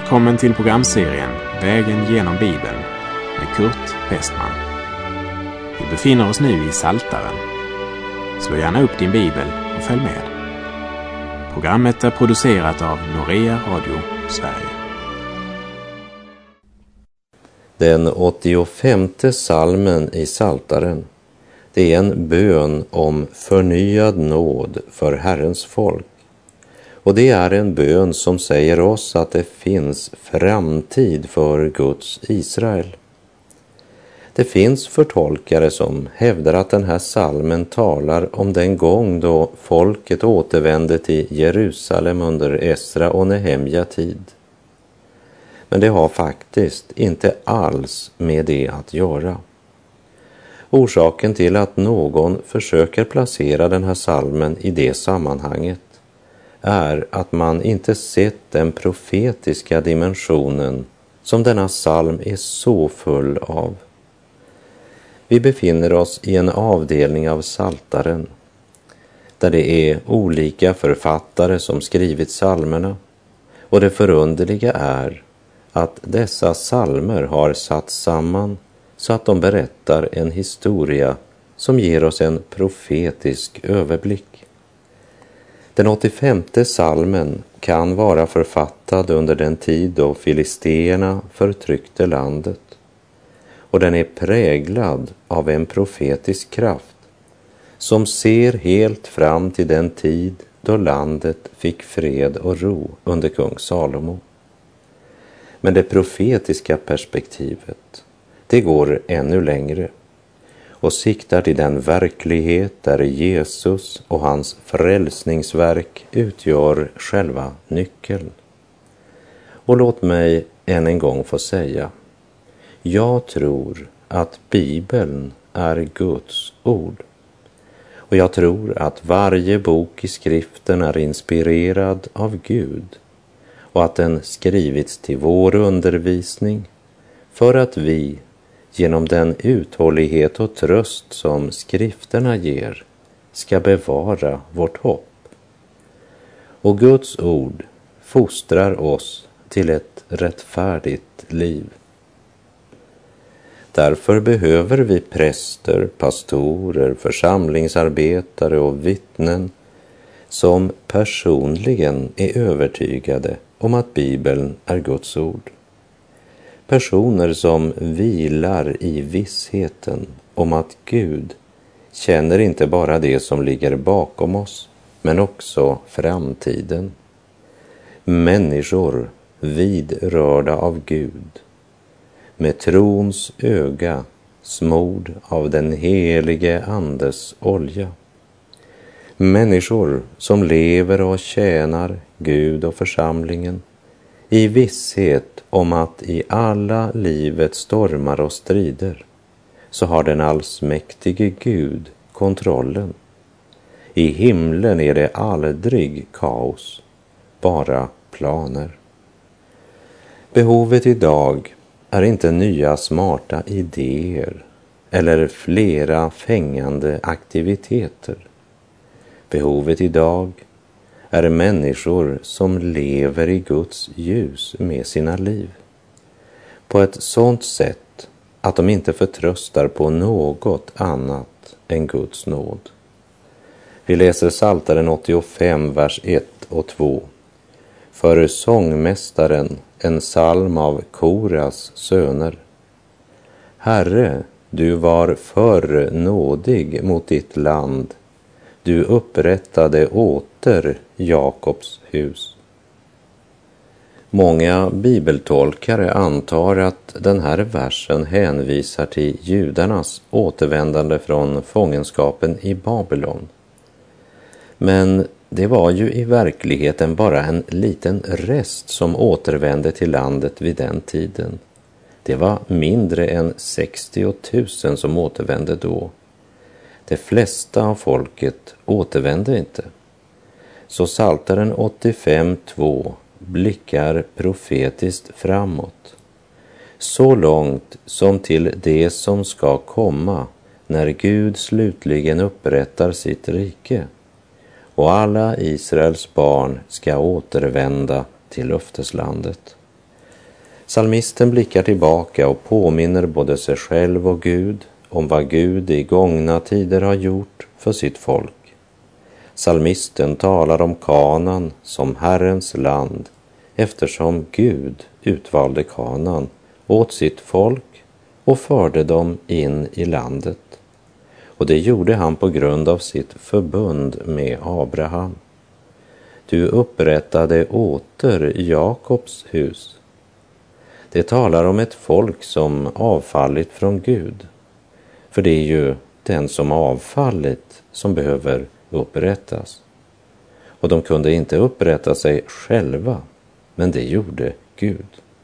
Välkommen till programserien Vägen genom Bibeln med Kurt Westman. Vi befinner oss nu i Psaltaren. Slå gärna upp din bibel och följ med. Programmet är producerat av Norea Radio Sverige. Den 85:e psalmen i Psaltaren, det är en bön om förnyad nåd för Herrens folk. Och det är en bön som säger oss att det finns framtid för Guds Israel. Det finns förtolkare som hävdar att den här psalmen talar om den gång då folket återvände till Jerusalem under Esra och Nehemja tid. Men det har faktiskt inte alls med det att göra. Orsaken till att någon försöker placera den här psalmen i det sammanhanget är att man inte sett den profetiska dimensionen som denna psalm är så full av. Vi befinner oss i en avdelning av Psaltaren där det är olika författare som skrivit psalmerna, och det förunderliga är att dessa psalmer har satt samman så att de berättar en historia som ger oss en profetisk överblick. Den 85:e psalmen kan vara författad under den tid då filisterna förtryckte landet, och den är präglad av en profetisk kraft som ser helt fram till den tid då landet fick fred och ro under kung Salomo. Men det profetiska perspektivet, det går ännu längre och siktar till den verklighet där Jesus och hans frälsningsverk utgör själva nyckeln. Och låt mig än en gång få säga, jag tror att Bibeln är Guds ord. Och jag tror att varje bok i skriften är inspirerad av Gud och att den skrivits till vår undervisning för att vi genom den uthållighet och tröst som skrifterna ger ska bevara vårt hopp. Och Guds ord fostrar oss till ett rättfärdigt liv. Därför behöver vi präster, pastorer, församlingsarbetare och vittnen som personligen är övertygade om att Bibeln är Guds ord. Personer som vilar i vissheten om att Gud känner inte bara det som ligger bakom oss, men också framtiden. Människor vidrörda av Gud, med trons öga smord av den helige Andes olja. Människor som lever och tjänar Gud och församlingen i visshet om att i alla livets stormar och strider så har den allsmäktige Gud kontrollen. I himlen är det aldrig kaos, bara planer. Behovet idag är inte nya smarta idéer eller flera fängande aktiviteter. Behovet idag är människor som lever i Guds ljus med sina liv. På ett sådant sätt att de inte förtröstar på något annat än Guds nåd. Vi läser Psaltaren 85, vers 1 och 2. För sångmästaren, en psalm av Koras söner. Herre, du var för nådig mot ditt land. Du upprättade åter Jakobs hus. Många bibeltolkare antar att den här versen hänvisar till judarnas återvändande från fångenskapen i Babylon. Men det var ju i verkligheten bara en liten rest som återvände till landet vid den tiden. Det var mindre än 60 000 som återvände då. De flesta av folket återvände inte. Så Psaltaren 85:2 blickar profetiskt framåt. Så långt som till det som ska komma när Gud slutligen upprättar sitt rike. Och alla Israels barn ska återvända till löfteslandet. Psalmisten blickar tillbaka och påminner både sig själv och Gud om vad Gud i gångna tider har gjort för sitt folk. Psalmisten talar om Kanaan som Herrens land, eftersom Gud utvalde Kanaan åt sitt folk och förde dem in i landet. Och det gjorde han på grund av sitt förbund med Abraham. Du upprättade åter Jakobs hus. Det talar om ett folk som avfallit från Gud. För det är ju den som avfallit som behöver upprättas. Och de kunde inte upprätta sig själva, men det gjorde Gud.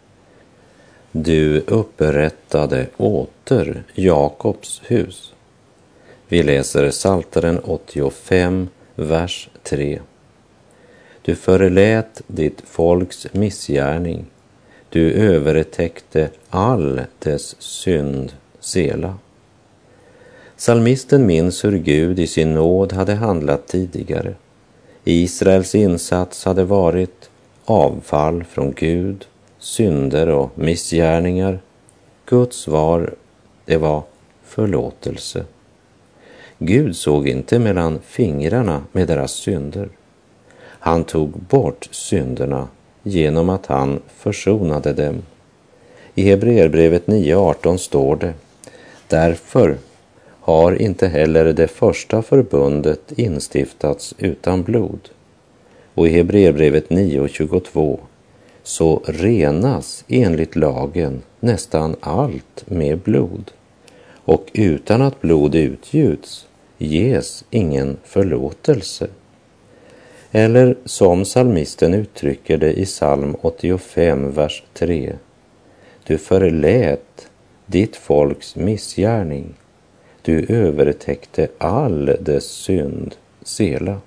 Du upprättade åter Jakobs hus. Vi läser Psaltaren 85, vers 3. Du förlät ditt folks missgärning. Du övertäckte all dess synd, Sela. Psalmisten minns hur Gud i sin nåd hade handlat tidigare. Israels insats hade varit avfall från Gud, synder och missgärningar. Guds svar, det var förlåtelse. Gud såg inte mellan fingrarna med deras synder. Han tog bort synderna genom att han försonade dem. I Hebreerbrevet 9:18 står det: därför har inte heller det första förbundet instiftats utan blod. Och i Hebreerbrevet 9:22 så renas enligt lagen nästan allt med blod. Och utan att blod utgjuts ges ingen förlåtelse. Eller som psalmisten uttrycker det i psalm 85, vers 3. Du förlät ditt folks missgärning. Du övertäckte all dess synd, Sela.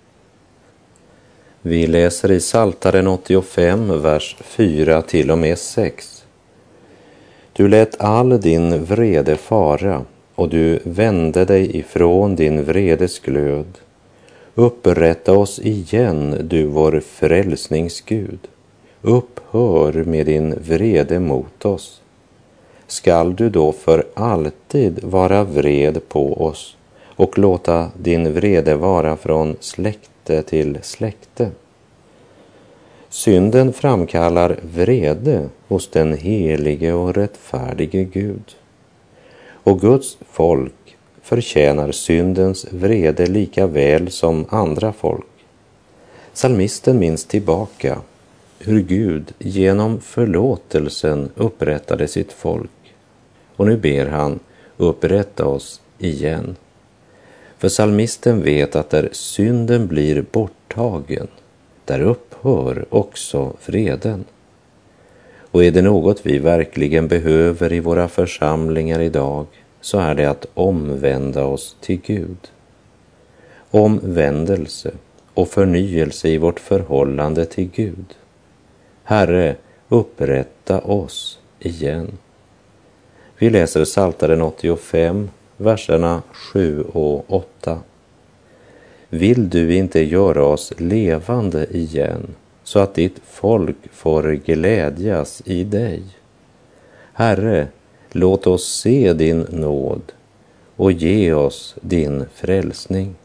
Vi läser i Psaltaren 85, vers 4 till och med 6. Du lät all din vrede fara och du vände dig ifrån din vredes glöd. Upprätta oss igen, du vår frälsningsgud. Upphör med din vrede mot oss. Skall du då för alltid vara vred på oss och låta din vrede vara från släkte till släkte? Synden framkallar vrede hos den helige och rättfärdige Gud. Och Guds folk förtjänar syndens vrede lika väl som andra folk. Psalmisten minns tillbaka hur Gud genom förlåtelsen upprättade sitt folk. Och nu ber han upprätta oss igen. För psalmisten vet att där synden blir borttagen, där upphör också vreden. Och är det något vi verkligen behöver i våra församlingar idag, så är det att omvända oss till Gud. Omvändelse och förnyelse i vårt förhållande till Gud. Herre, upprätta oss igen. Vi läser Psaltaren 85, verserna 7 och 8. Vill du inte göra oss levande igen, så att ditt folk får glädjas i dig? Herre, låt oss se din nåd och ge oss din frälsning.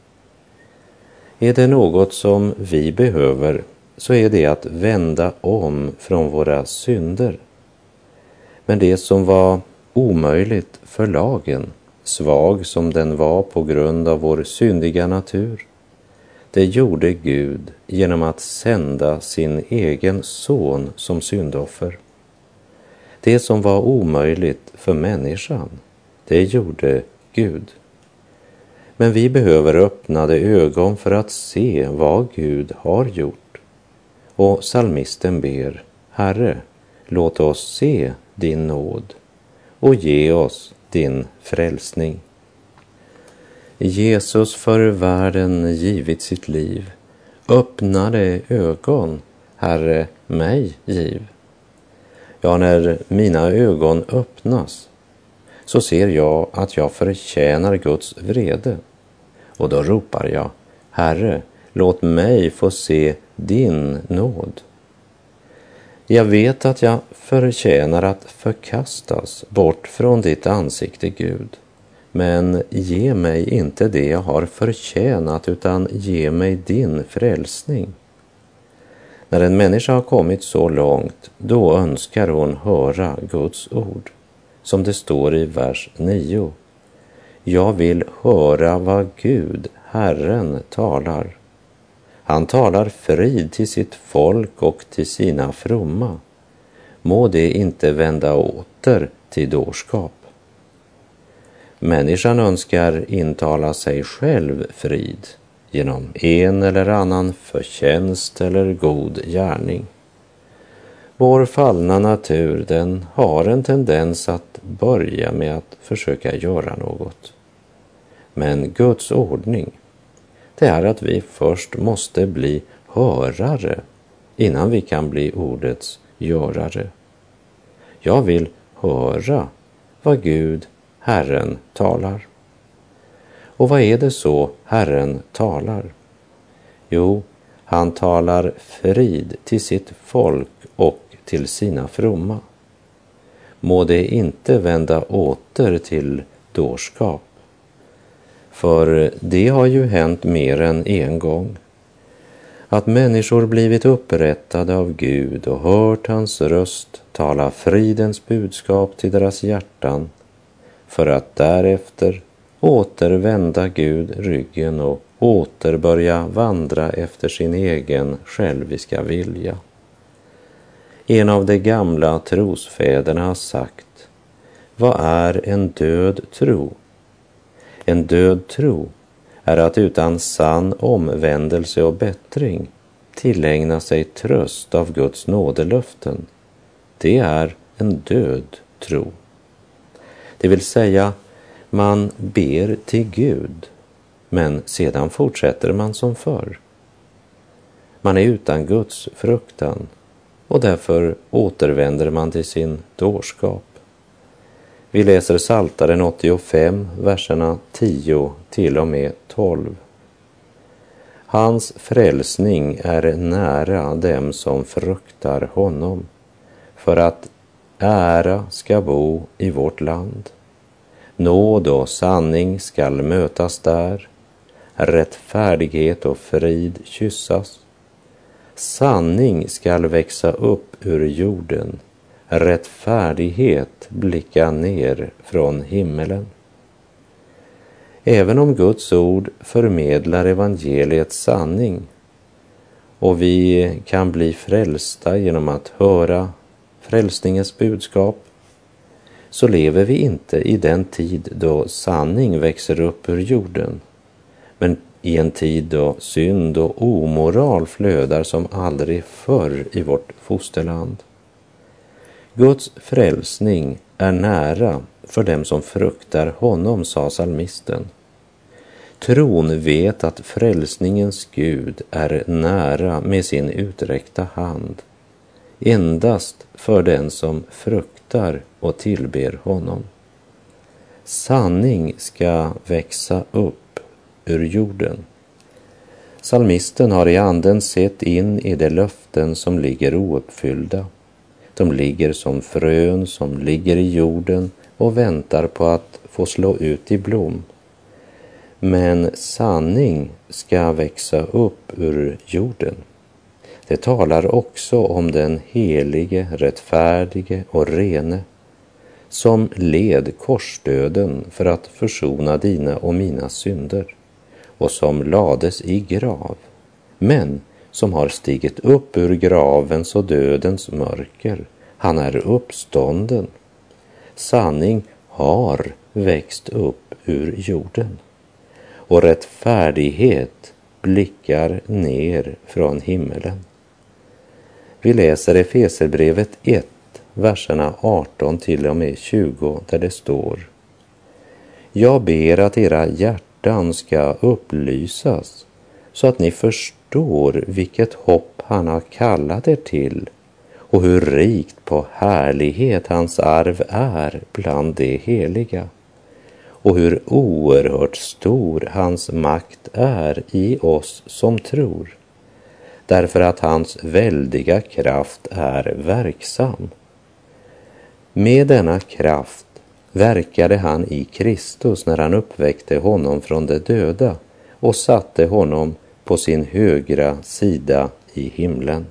Är det något som vi behöver, så är det att vända om från våra synder. Men det som var omöjligt för lagen, svag som den var på grund av vår syndiga natur, det gjorde Gud genom att sända sin egen son som syndoffer. Det som var omöjligt för människan, det gjorde Gud. Men vi behöver öppnade ögon för att se vad Gud har gjort. Och psalmisten ber: Herre, låt oss se din nåd och ge oss din frälsning. Jesus för världen givit sitt liv, öppnade ögon, Herre, mig giv. Ja, när mina ögon öppnas så ser jag att jag förtjänar Guds vrede. Och då ropar jag: Herre, låt mig få se din nåd. Jag vet att jag förtjänar att förkastas bort från ditt ansikte, Gud. Men ge mig inte det jag har förtjänat, utan ge mig din frälsning. När en människa har kommit så långt, då önskar hon höra Guds ord. Som det står i vers 9. Jag vill höra vad Gud, Herren, talar. Han talar frid till sitt folk och till sina fromma. Må det inte vända åter till dårskap. Människan önskar intala sig själv frid genom en eller annan förtjänst eller god gärning. Vår fallna natur, den har en tendens att börja med att försöka göra något. Men Guds ordning, det är att vi först måste bli hörare innan vi kan bli ordets görare. Jag vill höra vad Gud, Herren, talar. Och vad är det så Herren talar? Jo, han talar frid till sitt folk och till sina fromma. Må det inte vända åter till dårskap. För det har ju hänt mer än en gång. Att människor blivit upprättade av Gud och hört hans röst tala fridens budskap till deras hjärtan, för att därefter återvända Gud ryggen och åter börja vandra efter sin egen själviska vilja. En av de gamla trosfäderna har sagt: vad är en död tro? En död tro är att utan sann omvändelse och bättring tillägna sig tröst av Guds nådelöften. Det är en död tro. Det vill säga, man ber till Gud, men sedan fortsätter man som förr. Man är utan Guds fruktan och därför återvänder man till sin dårskap. Vi läser Psaltaren 85, verserna 10 till och med 12. Hans frälsning är nära dem som fruktar honom, för att ära ska bo i vårt land. Nåd och sanning skall mötas där, rättfärdighet och frid kyssas. Sanning skall växa upp ur jorden, rättfärdighet blicka ner från himmelen. Även om Guds ord förmedlar evangeliets sanning och vi kan bli frälsta genom att höra frälsningens budskap, så lever vi inte i den tid då sanning växer upp ur jorden, men i en tid då synd och omoral flödar som aldrig förr i vårt fosterland. Guds frälsning är nära för dem som fruktar honom, sa psalmisten. Tron vet att frälsningens Gud är nära med sin uträckta hand, endast för den som fruktar och tillber honom. Sanning ska växa upp ur jorden. Psalmisten har i anden sett in i de löften som ligger ouppfyllda. De ligger som frön som ligger i jorden och väntar på att få slå ut i blom. Men sanning ska växa upp ur jorden. Det talar också om den helige, rättfärdige och rene, som led korsdöden för att försona dina och mina synder, och som lades i grav, men som har stigit upp ur gravens och dödens mörker. Han är uppstånden. Sanning har växt upp ur jorden, och rättfärdighet blickar ner från himmelen. Vi läser Efeserbrevet 1, verserna 18 till och med 20, där det står: jag ber att era hjärtan ska upplysas, så att ni förstår vilket hopp han har kallat er till, och hur rikt på härlighet hans arv är bland de heliga, och hur oerhört stor hans makt är i oss som tror. därför att hans väldiga kraft är verksam. Med denna kraft verkade han i Kristus när han uppväckte honom från de döda och satte honom på sin högra sida i himlen.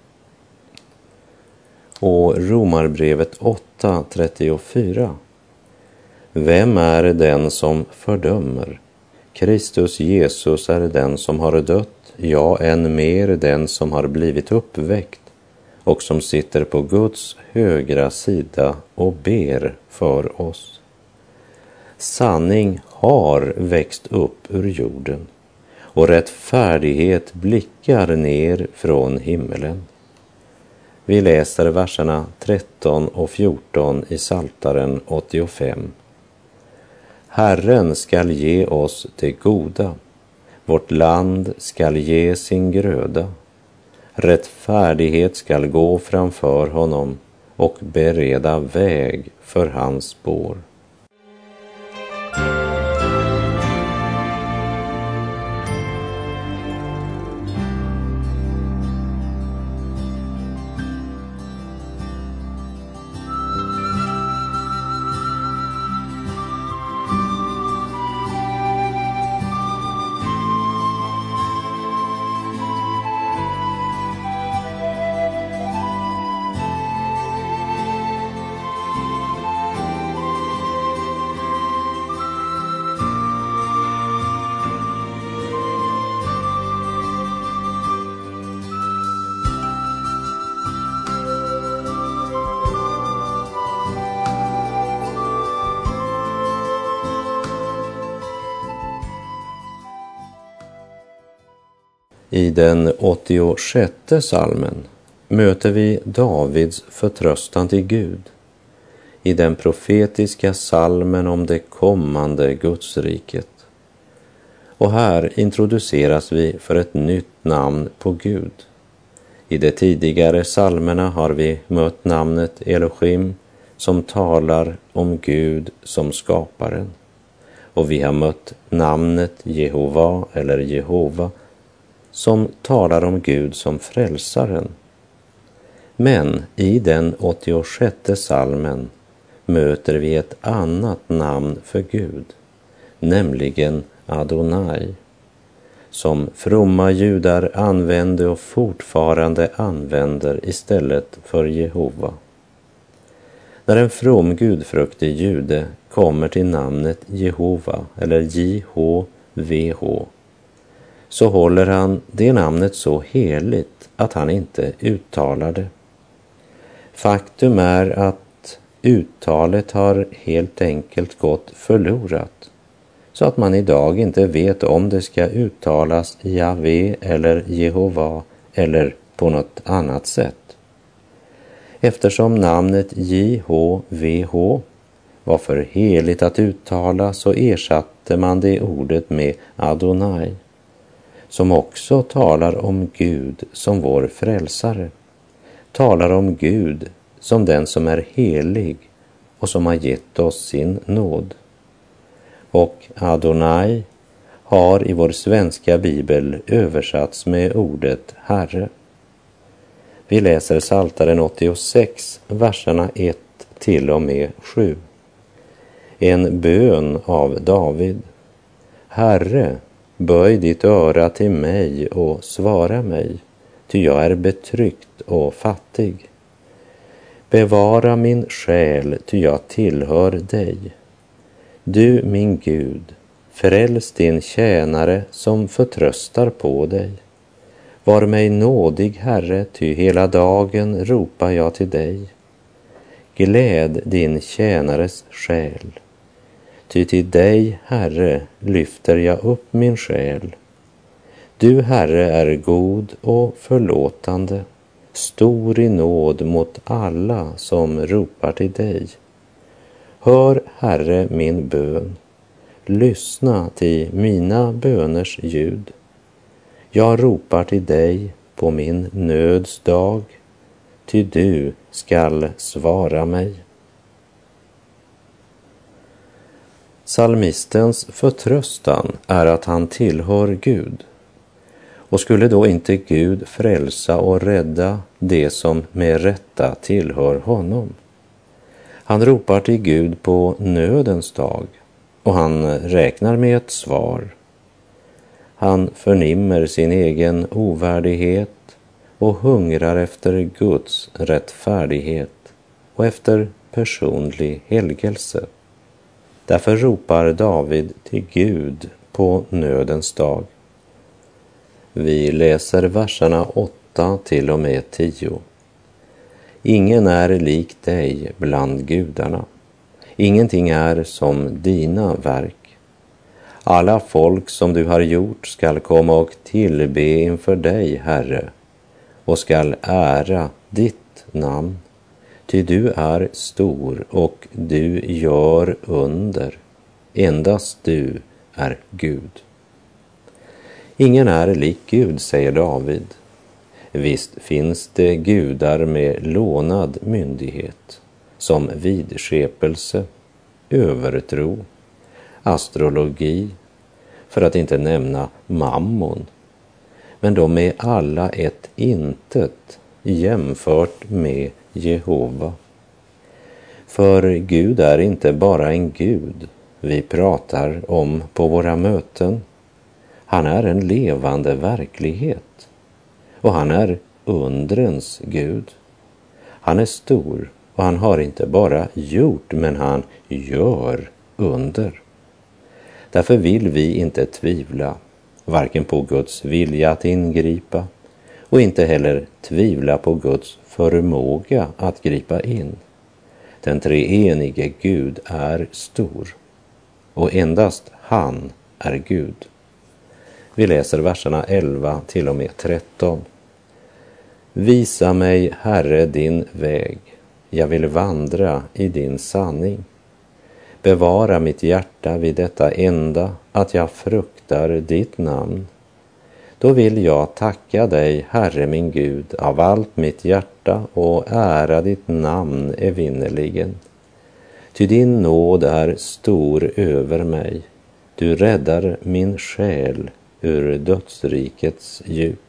Och Romarbrevet 8:34. Vem är den som fördömer? Kristus Jesus är den som har dött, ja, än mer den som har blivit uppväckt och som sitter på Guds högra sida och ber för oss. Sanning har växt upp ur jorden och rättfärdighet blickar ner från himmelen. Vi läser verserna 13 och 14 i Psaltaren 85. Herren skall ge oss det goda, vårt land skall ge sin gröda. Rättfärdighet skall gå framför honom och bereda väg för hans spår. I den 86:e psalmen möter vi Davids förtröstan till Gud. I den profetiska psalmen om det kommande Gudsriket. Och här introduceras vi för ett nytt namn på Gud. I de tidigare psalmerna har vi mött namnet Elohim som talar om Gud som skaparen. Och vi har mött namnet Jehova eller Jehova som talar om Gud som frälsaren. Men i den 86:e psalmen möter vi ett annat namn för Gud, nämligen Adonai, som fromma judar använde och fortfarande använder istället för Jehova. När en from gudfruktig jude kommer till namnet Jehova eller JHVH, så håller han det namnet så heligt att han inte uttalar det. Faktum är att uttalet har helt enkelt gått förlorat, så att man idag inte vet om det ska uttalas Jahve eller Jehova eller på något annat sätt. Eftersom namnet JHVH var för heligt att uttala så ersatte man det ordet med Adonai, som också talar om Gud som vår frälsare, talar om Gud som den som är helig och som har gett oss sin nåd. Och Adonai har i vår svenska bibel översatts med ordet Herre. Vi läser Psaltaren 86, verserna 1 till och med 7. En bön av David. Herre, böj ditt öra till mig och svara mig, ty jag är betryckt och fattig. Bevara min själ, ty jag tillhör dig. Du, min Gud, fräls din tjänare som förtröstar på dig. Var mig nådig, Herre, ty hela dagen ropar jag till dig. Gläd din tjänares själ. Ty till dig, Herre, lyfter jag upp min själ. Du, Herre, är god och förlåtande, stor i nåd mot alla som ropar till dig. Hör, Herre, min bön. Lyssna till mina böners ljud. Jag ropar till dig på min nöds dag, ty du skall svara mig. Psalmistens förtröstan är att han tillhör Gud. Och skulle då inte Gud frälsa och rädda det som med rätta tillhör honom? Han ropar till Gud på nödens dag och han räknar med ett svar. Han förnimmer sin egen ovärdighet och hungrar efter Guds rättfärdighet och efter personlig helgelse. Därför ropar David till Gud på nödens dag. Vi läser verserna 8 till och med 10. Ingen är lik dig bland gudarna. Ingenting är som dina verk. Alla folk som du har gjort skall komma och tillbe inför dig, Herre, och skall ära ditt namn. Ty du är stor och du gör under. Endast du är Gud. Ingen är lik Gud, säger David. Visst finns det gudar med lånad myndighet, som vidskepelse, övertro, astrologi, för att inte nämna mammon. Men de är alla ett intet jämfört med Jehova. För Gud är inte bara en Gud vi pratar om på våra möten. Han är en levande verklighet. Och han är undrens Gud. Han är stor och han har inte bara gjort, men han gör under. Därför vill vi inte tvivla, varken på Guds vilja att ingripa och inte heller tvivla på Guds förmåga att gripa in. Den treenige Gud är stor och endast han är Gud. Vi läser verserna 11 till och med 13. Visa mig, Herre, din väg. Jag vill vandra i din sanning. Bevara mitt hjärta vid detta enda, att jag fruktar ditt namn. Då vill jag tacka dig, Herre min Gud, av allt mitt hjärta och ära ditt namn evinnerligen. Ty din nåd är stor över mig. Du räddar min själ ur dödsrikets djup.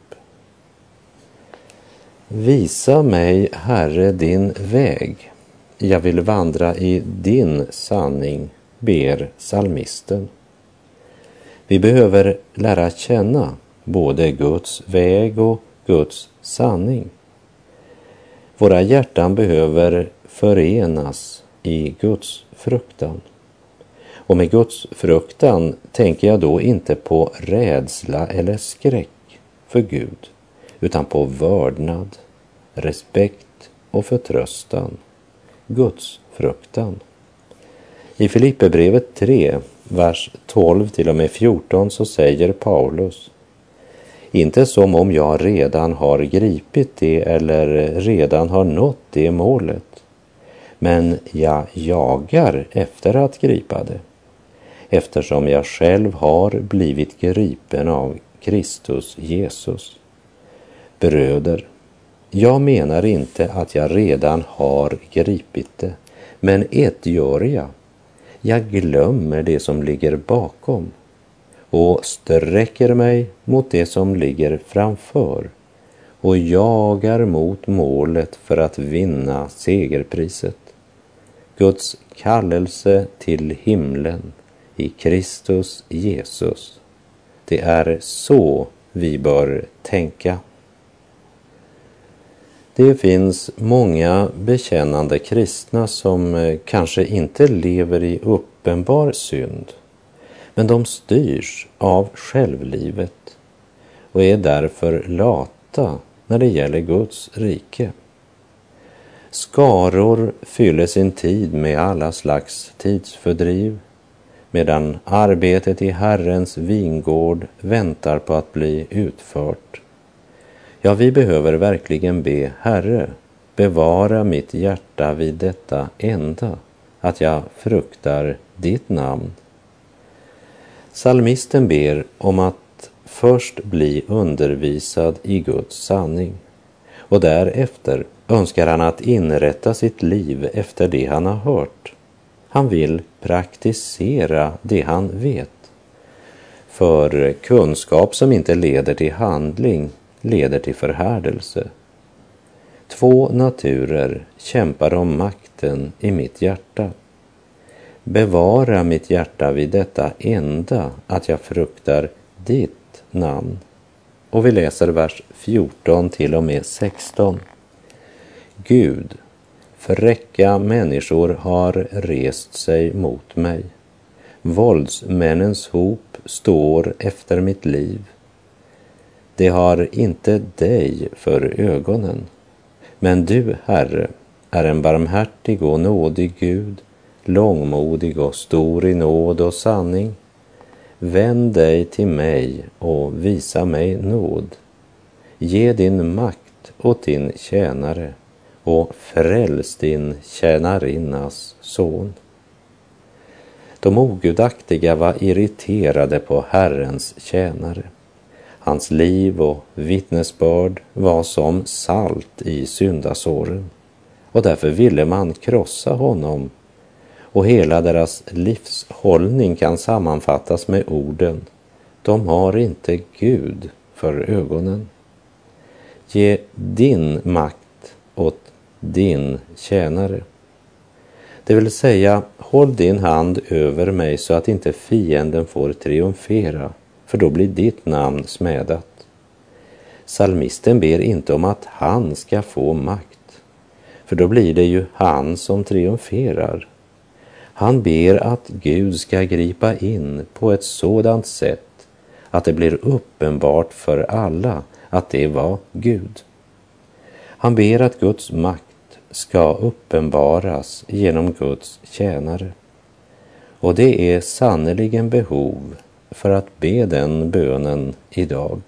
Visa mig, Herre, din väg. Jag vill vandra i din sanning, ber psalmisten. Vi behöver lära känna både Guds väg och Guds sanning. Våra hjärtan behöver förenas i Guds fruktan. Och med Guds fruktan tänker jag då inte på rädsla eller skräck för Gud, utan på vördnad, respekt och förtröstan. Guds fruktan. I Filipperbrevet 3, vers 12 till och med 14 så säger Paulus: inte som om jag redan har gripit det eller redan har nått det målet, men jag jagar efter att gripa det, eftersom jag själv har blivit gripen av Kristus Jesus. Bröder, jag menar inte att jag redan har gripit det, men ett gör jag. Jag glömmer det som ligger bakom och sträcker mig mot det som ligger framför och jagar mot målet för att vinna segerpriset. Guds kallelse till himlen i Kristus Jesus. Det är så vi bör tänka. Det finns många bekännande kristna som kanske inte lever i uppenbar synd, men de styrs av självlivet och är därför lata när det gäller Guds rike. Skaror fyller sin tid med alla slags tidsfördriv, medan arbetet i Herrens vingård väntar på att bli utfört. Ja, vi behöver verkligen be: Herre, bevara mitt hjärta vid detta enda, att jag fruktar ditt namn. Psalmisten ber om att först bli undervisad i Guds sanning, och därefter önskar han att inrätta sitt liv efter det han har hört. Han vill praktisera det han vet. För kunskap som inte leder till handling leder till förhärdelse. 2 naturer kämpar om makten i mitt hjärta. Bevara mitt hjärta vid detta enda, att jag fruktar ditt namn. Och vi läser vers 14 till och med 16. Gud, fräcka människor har rest sig mot mig. Våldsmännens hop står efter mitt liv. Det har inte dig för ögonen. Men du, Herre, är en barmhärtig och nådig Gud, långmodig och stor i nåd och sanning. Vänd dig till mig och visa mig nåd. Ge din makt åt din tjänare och fräls din tjänarinnas son. De ogudaktiga var irriterade på Herrens tjänare. Hans liv och vittnesbörd var som salt i syndasåren, och därför ville man krossa honom. Och hela deras livshållning kan sammanfattas med orden: de har inte Gud för ögonen. Ge din makt åt din tjänare. Det vill säga, håll din hand över mig så att inte fienden får triumfera, för då blir ditt namn smädat. Psalmisten ber inte om att han ska få makt, för då blir det ju han som triumferar. Han ber att Gud ska gripa in på ett sådant sätt att det blir uppenbart för alla att det var Gud. Han ber att Guds makt ska uppenbaras genom Guds tjänare. Och det är sannerligen behov för att be den bönen idag.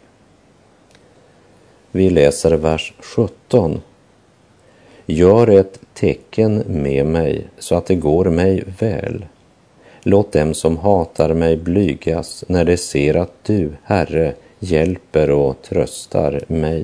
Vi läser vers 17. Gör ett tecken med mig så att det går mig väl. Låt dem som hatar mig blygas när de ser att du, Herre, hjälper och tröstar mig.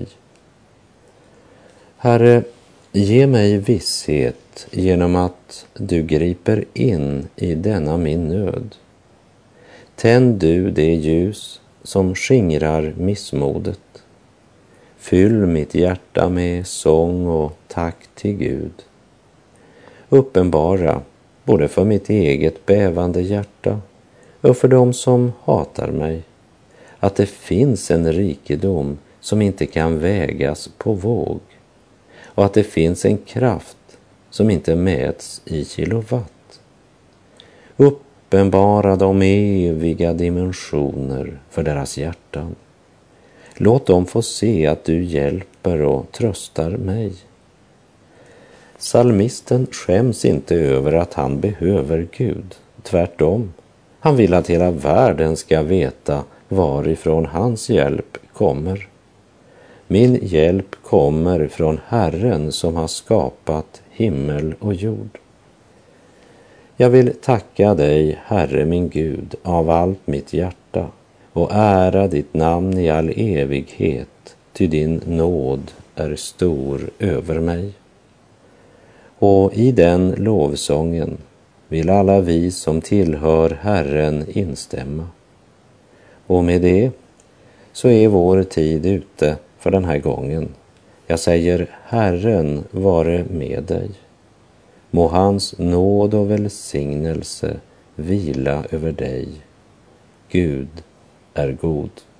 Herre, ge mig visshet genom att du griper in i denna min nöd. Tänd du det ljus som skingrar missmodet. Fyll mitt hjärta med sång och tack till Gud. Uppenbara både för mitt eget bävande hjärta och för dem som hatar mig att det finns en rikedom som inte kan vägas på våg, och att det finns en kraft som inte mäts i kilowatt. Uppenbara de eviga dimensioner för deras hjärtan. Låt dem få se att du hjälper och tröstar mig. Psalmisten skäms inte över att han behöver Gud. Tvärtom, han vill att hela världen ska veta varifrån hans hjälp kommer. Min hjälp kommer från Herren som har skapat himmel och jord. Jag vill tacka dig, Herre min Gud, av allt mitt hjärta och ära ditt namn i all evighet, ty din nåd är stor över mig. Och i den lovsången vill alla vi som tillhör Herren instämma. Och med det så är vår tid ute för den här gången. Jag säger, Herren vare med dig. Må hans nåd och välsignelse vila över dig. Gud är god.